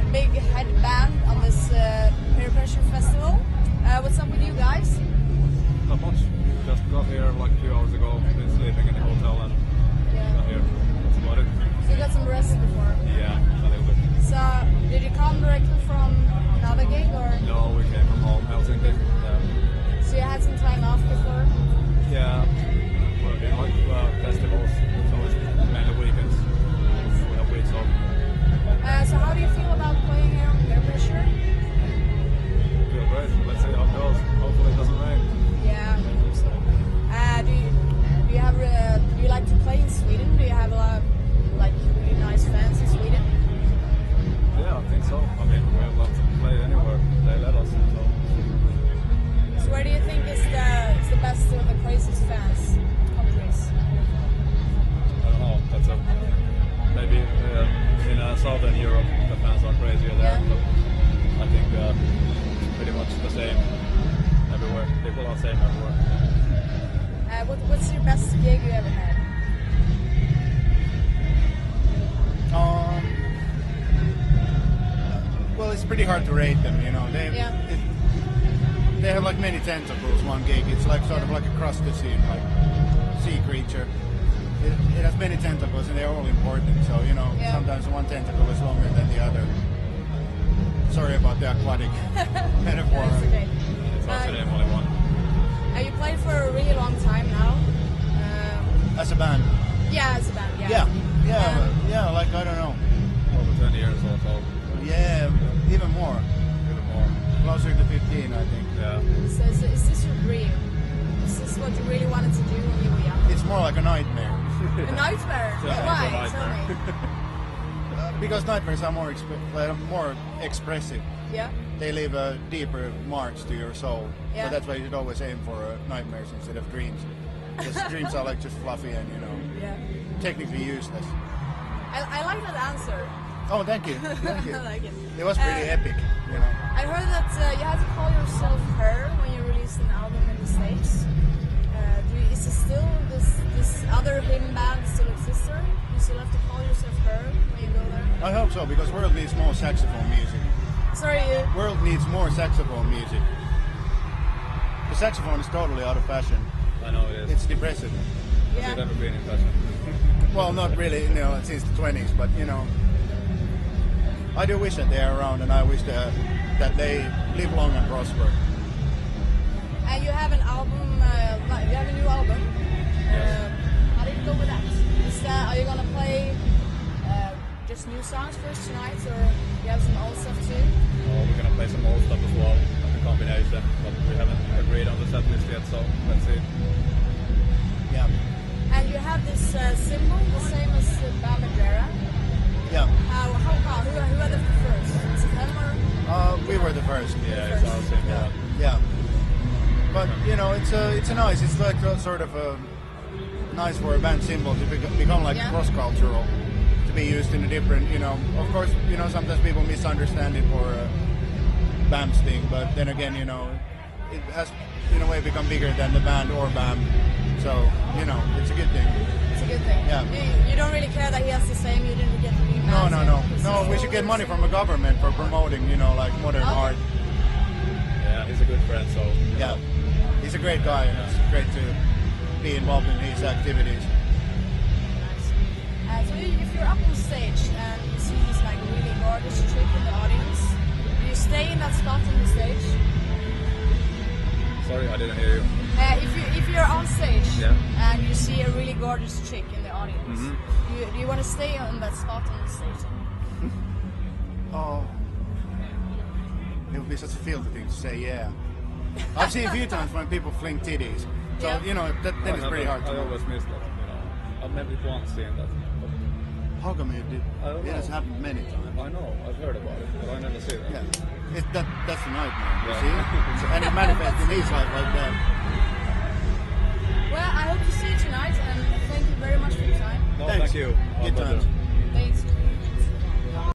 big headband on this Peer Pressure Festival. What's up with you guys? Not much. Just got here like a few hours ago. Been sleeping in the hotel and got here. That's about it. So you got some rest before? Yeah, a little bit. So did you come directly from another gig or? No, we came from home, Helsinki. So you had some time off before? Yeah. Working like festivals, so it's mainly weekends. We have weeks off. So how do you feel about playing here on Peer Pressure? Feel great. Let's see how it goes. Hopefully it doesn't rain. Yeah, I hope so. Do you like to play in Sweden? Do you have a lot of like really nice fans in Sweden? Yeah, I think so. I mean, we have lots to play anywhere. They let us. So where do you think is the best or the craziest fans countries? I don't know. That's maybe in Southern Europe the fans are crazier there. Yeah. But I think pretty much the same everywhere. People are the same everywhere. What's your best gig you ever had? Well, it's pretty hard to rate them, you know. They have like many tentacles, one gig. It's like sort of like a crustacean, like sea creature. It has many tentacles and they're all important, so, you know, sometimes one tentacle is longer than the other. Sorry about the aquatic metaphor. That's okay. It's also the only one. You played for a really long time now. As a band? Yeah, as a band, yeah. Yeah, like, I don't know. Over 20 years or so. Yeah, even more. Even more. Closer to 15, I think. Yeah. So is this your dream? Is this what you really wanted to do when you were young? It's more like a nightmare. A nightmare? Yeah, Why? it's a nightmare. Tell me. Because nightmares are more expressive. Yeah? They leave deeper marks to your soul. Yeah. So that's why you should always aim for nightmares instead of dreams. Because dreams are like just fluffy and, you know, technically useless. I like that answer. Oh, thank you. Thank you. I like it. It was pretty epic, you know. I heard that you had to call yourself Her when you released an album in the States. Is it still this other hymn band still exists there? You still have to call yourself Her when you go there? I hope so, because world needs more saxophone music. Sorry, World needs more saxophone music. The saxophone is totally out of fashion. I know it is. It's depressive. Has it ever been in fashion? Well, not really, you know, since the 20s, but, you know, I do wish that they are around, and I wish that they live long and prosper. And you have an album, you have a new album. Yes. How did it go with that? Are you gonna play just new songs first tonight, or you have some old stuff too? Oh, we're gonna play some old stuff as well, like a combination, but we haven't agreed on the set list yet, so let's see. Yeah. And you have this symbol, the same as Bam Margera. Yeah. How come? Who are the first? Is it them or? We were the first. Yeah, it's our symbol. Yeah. But, you know, it's nice. It's like sort of nice for a band symbol to become like cross-cultural, to be used in a different, you know, of course, you know, sometimes people misunderstand it for BAM's thing, but then again, you know, it has in a way become bigger than the band or BAM, so, you know, it's a good thing. It's a good thing. Yeah. You don't really care that he has the same, you didn't get to be No, we should get money from the government for promoting, you know, like modern art. Yeah, he's a good friend, so... Yeah, he's a great guy, and it's great to be involved in his activities. So if you're up on stage and you see this like really gorgeous chick in the audience, do you stay in that spot on the stage? Sorry, I didn't hear you. If you're on stage Yeah. and you see a really gorgeous chick in the audience, do you want to stay on that spot on the stage? Oh, it would be such a filthy thing to say, yeah. I've seen a few times when people fling titties, so, you know, that is pretty hard to I do. always miss that, you know. I've never once seen that. How come you did? I don't It has know. happened many times. I know, I've heard about it, but I never see that. Yeah, that's a nightmare, you Yeah. see? And it manifests in his life like that. Well, I hope to see you tonight, and thank you very much for your time. No, Thanks. thank you. Good Our pleasure. times. Thanks.